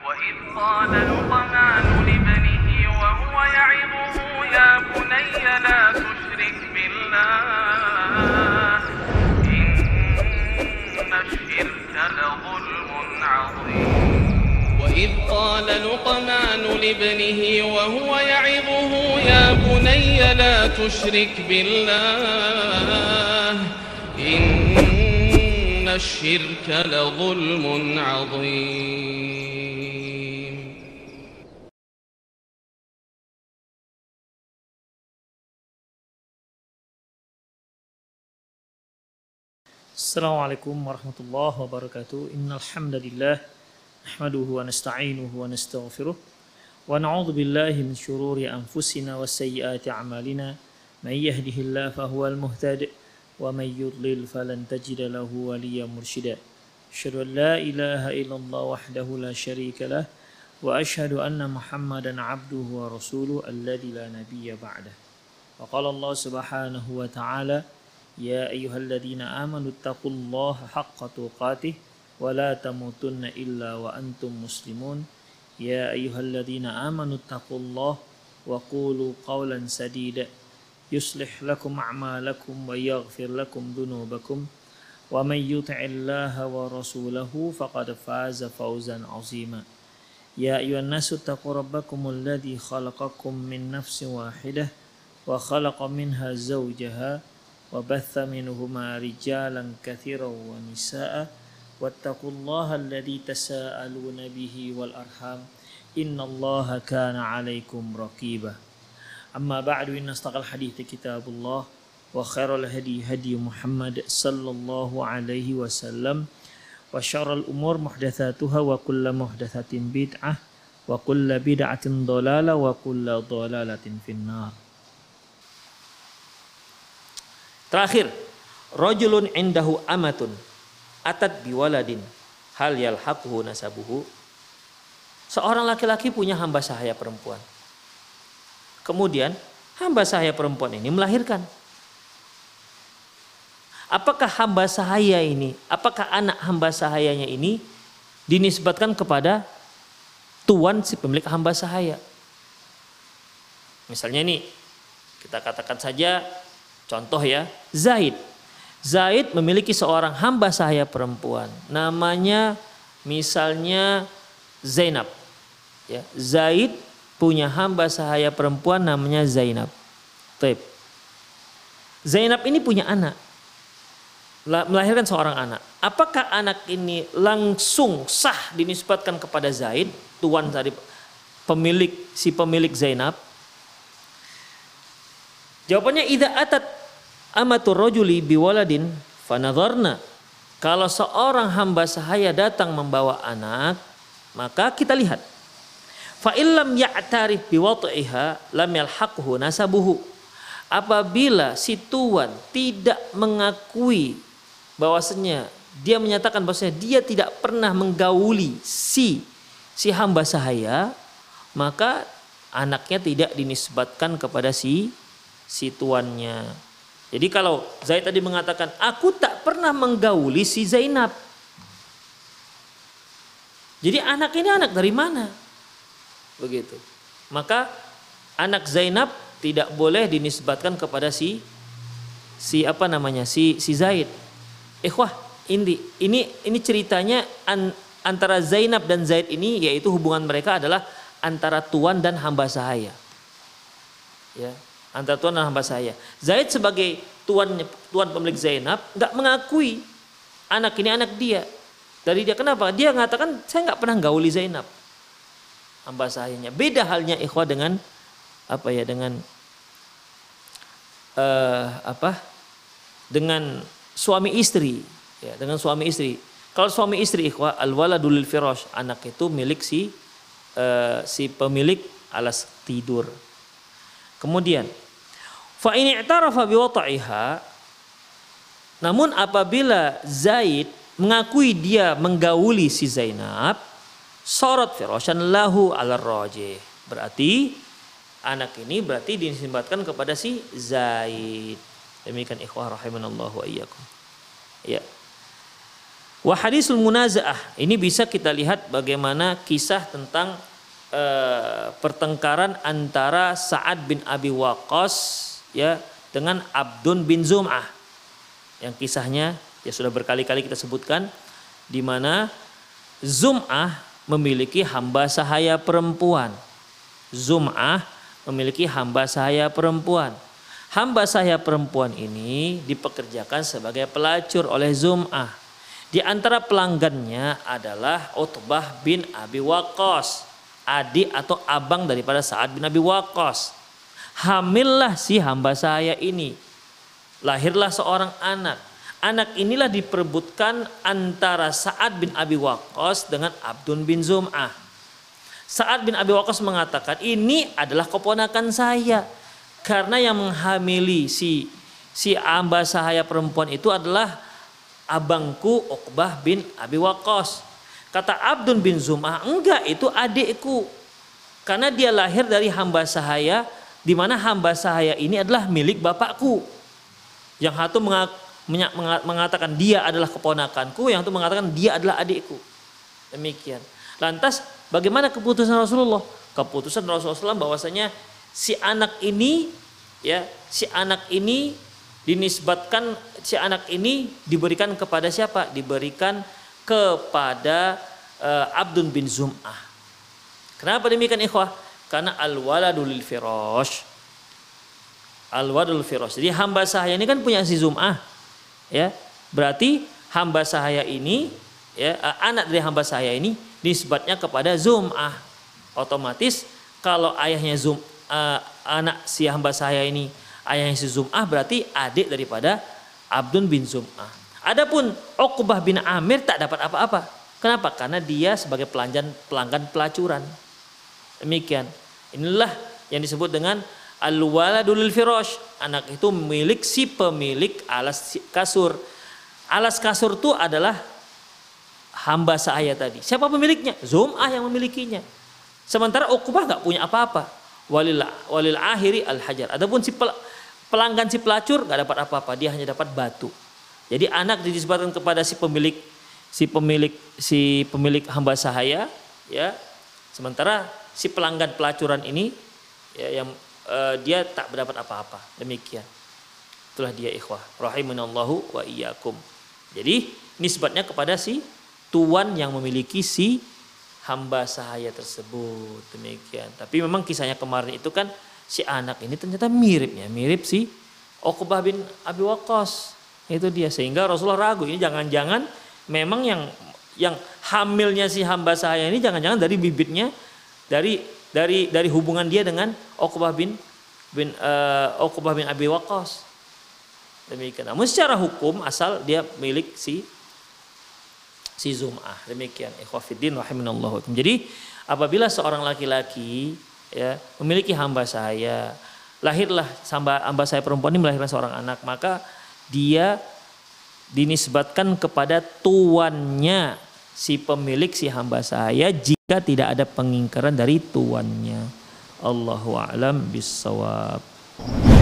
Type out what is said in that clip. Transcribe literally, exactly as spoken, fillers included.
وإذ قال لقمان لابنه وهو يعظه يا بني لا تشرك بالله إن الشرك لظلم عظيم وإذ قال لقمان لابنه وهو يعظه يا بني لا تشرك بالله إن الشرك لظلم عظيم. Assalamualaikum warahmatullahi wabarakatuh. Innal hamdalillah nahmaduhu wa nasta'inuhu wa nastaghfiruh wa na'udzu billahi min shururi anfusina wa sayyiati a'malina. May yahdihillahu fahuwal muhtadi wa may yudlil falan tajida lahu waliyyan mursyida. Asyhadu an la ilaha illallah wahdahu la syarika lah wa asyhadu anna Muhammadan 'abduhu wa rasuluhu alladzi la nabiyya ba'dah. Wa qala Allah subhanahu wa ta'ala ya ayyuhalladzina amanu taqullaha haqqa tuqatih wa la tamutunna illa wa antum muslimun. Ya ayyuhalladzina amanu taqullaha wa qulu qawlan sadida yuslih lakum a'malakum wa yaghfir lakum dhunubakum wa may yuti'illaha wa rasulahu faqad faza fawzan 'azima. Ya ayyuhan nasu taqu rabbakumul ladzi khalaqakum min nafsin wahidah wa khalaqa minha zawjaha wa batha minhuma rijalan katsiran wa nisaa wattaqullaha alladzi tasaaluna bihi wal arham innallaha kana 'alaikum raqiba. Amma ba'du, inna astaqal hadithi kitabullah wa khairal hadi hadi Muhammad sallallahu alaihi wasallam wa syarrul umur muhdatsatuha wa kullu muhdatsatin bid'ah wa kullu bid'atin dhalalah wa kullu dhalalatin finnar. Terakhir, rajulun indahu amatun atat biwaladin hal yalhaquhu nasabuhu. Seorang laki-laki punya hamba sahaya perempuan. Kemudian hamba sahaya perempuan ini melahirkan. Apakah hamba sahaya ini, apakah anak hamba sahayanya ini dinisbatkan kepada tuan si pemilik hamba sahaya? Misalnya nih, kita katakan saja contoh ya, Zaid. Zaid memiliki seorang hamba sahaya perempuan. Namanya misalnya Zainab. Ya, Zaid punya hamba sahaya perempuan namanya Zainab. Taib. Zainab ini punya anak. Melahirkan seorang anak. Apakah anak ini langsung sah dinisbatkan kepada Zaid, tuan dari pemilik si pemilik Zainab? Jawabannya idza atat amatur rajuli biwaladin fanadharna. Kalau seorang hamba sahaya datang membawa anak, maka kita lihat. Fa illam ya'tarif biwad'iha lam yalhaqhu nasabuhu. Apabila si tuan tidak mengakui bahwasanya dia menyatakan bahwasanya dia tidak pernah menggauli si si hamba sahaya, maka anaknya tidak dinisbatkan kepada si si tuannya. Jadi kalau Zaid tadi mengatakan aku tak pernah menggauli si Zainab. Jadi anak ini anak dari mana? Begitu. Maka anak Zainab tidak boleh dinisbatkan kepada si si apa namanya? si si Zaid. Ikhwah, ini ini ini ceritanya an, antara Zainab dan Zaid ini, yaitu hubungan mereka adalah antara tuan dan hamba sahaya. Ya. Antara tuan dan hamba sahaya. Zaid sebagai tuan tuan pemilik Zainab nggak mengakui anak ini anak dia. Dari dia kenapa? Dia mengatakan saya nggak pernah gauli Zainab, hamba sahayanya. Beda halnya ikhwah dengan apa ya dengan uh, apa dengan suami istri. Ya, dengan suami istri. Kalau suami istri ikhwah al waladul lil firash, anak itu milik si uh, si pemilik alas tidur. Kemudian fa in i'tarafa biwata'iha, namun apabila Zaid mengakui dia menggauli si Zainab, sorot firasyan lahu ala rajih. Berarti anak ini berarti dinisbatkan kepada si Zaid. Demikian ikhwah rahimanallahu wa iyyakum. Ya. Wa hadisul munazaah, ini bisa kita lihat bagaimana kisah tentang uh, pertengkaran antara Sa'ad bin Abi Waqqas ya dengan Abdun bin Zum'ah. Yang kisahnya ya sudah berkali-kali kita sebutkan, di mana Zum'ah memiliki hamba sahaya perempuan. Zum'ah memiliki hamba sahaya perempuan. Hamba sahaya perempuan ini dipekerjakan sebagai pelacur oleh Zum'ah. Di antara pelanggannya adalah Utbah bin Abi Waqqas, adik atau abang daripada Sa'ad bin Abi Waqqas. Hamillah si hamba sahaya ini. Lahirlah seorang anak. Anak inilah diperebutkan antara Sa'ad bin Abi Waqqas dengan Abdun bin Zum'ah. Sa'ad bin Abi Waqqas mengatakan, ini adalah keponakan saya. Karena yang menghamili si si hamba sahaya perempuan itu adalah abangku Uqbah bin Abi Waqqas. Kata Abdun bin Zum'ah, enggak, itu adikku. Karena dia lahir dari hamba sahaya, di mana hamba sahaya ini adalah milik bapakku. Yang satu mengatakan dia adalah keponakanku, yang satu mengatakan dia adalah adikku. Demikian. Lantas bagaimana keputusan Rasulullah? Keputusan Rasulullah shallallahu alaihi wasallam bahwasanya si anak ini ya, si anak ini dinisbatkan, si anak ini diberikan kepada siapa? Diberikan kepada uh, Abdun bin Zum'ah. Kenapa demikian ikhwah? Karena al-waladul firash. Al-waladul firash. Jadi hamba sahaya ini kan punya si Zum'ah. Ya. Berarti hamba sahaya ini ya, uh, anak dari hamba sahaya ini nisbatnya kepada Zum'ah. Otomatis kalau ayahnya Zum uh, anak si hamba sahaya ini ayahnya si Zum'ah, berarti adik daripada Abdun bin Zum'ah. Adapun Uqbah bin Amir tak dapat apa-apa. Kenapa? Karena dia sebagai pelanggan pelanggan pelacuran. Demikian. Inilah yang disebut dengan al-waladul firash. Anak itu milik si pemilik alas kasur. Alas kasur itu adalah hamba sahaya tadi. Siapa pemiliknya? Zum'ah yang memilikinya. Sementara Uqbah nggak punya apa-apa. Walil walil akhiri al-hajar. Adapun si pelanggan si pelacur nggak dapat apa-apa, dia hanya dapat batu. Jadi anak dinisbatkan kepada si pemilik si pemilik si pemilik hamba sahaya ya. Sementara si pelanggan pelacuran ini ya, yang uh, dia tak mendapat apa-apa. Demikian. Itulah dia ikhwah rahimanallahu wa iyyakum. Jadi nisbatnya kepada si tuan yang memiliki si hamba sahaya tersebut. Demikian. Tapi memang kisahnya kemarin itu kan si anak ini ternyata mirip ya, mirip si Uqbah bin Abi Waqqas. Itu dia, sehingga Rasulullah ragu, ini jangan-jangan memang yang yang hamilnya si hamba sahaya ini jangan-jangan dari bibitnya, dari dari dari hubungan dia dengan Uqbah bin bin uh, Uqbah bin Abi Waqqas. Demikian. Namun secara hukum asal dia milik si si Zum'ah. Demikian. Ikhwah fiddin rahimanallahu. Jadi apabila seorang laki-laki ya memiliki hamba sahaya, lahirlah hamba, hamba sahaya perempuan ini melahirkan seorang anak, maka dia dinisbatkan kepada tuannya si pemilik si hamba sahaya jika tidak ada pengingkaran dari tuannya. Allahu a'lam bissawab.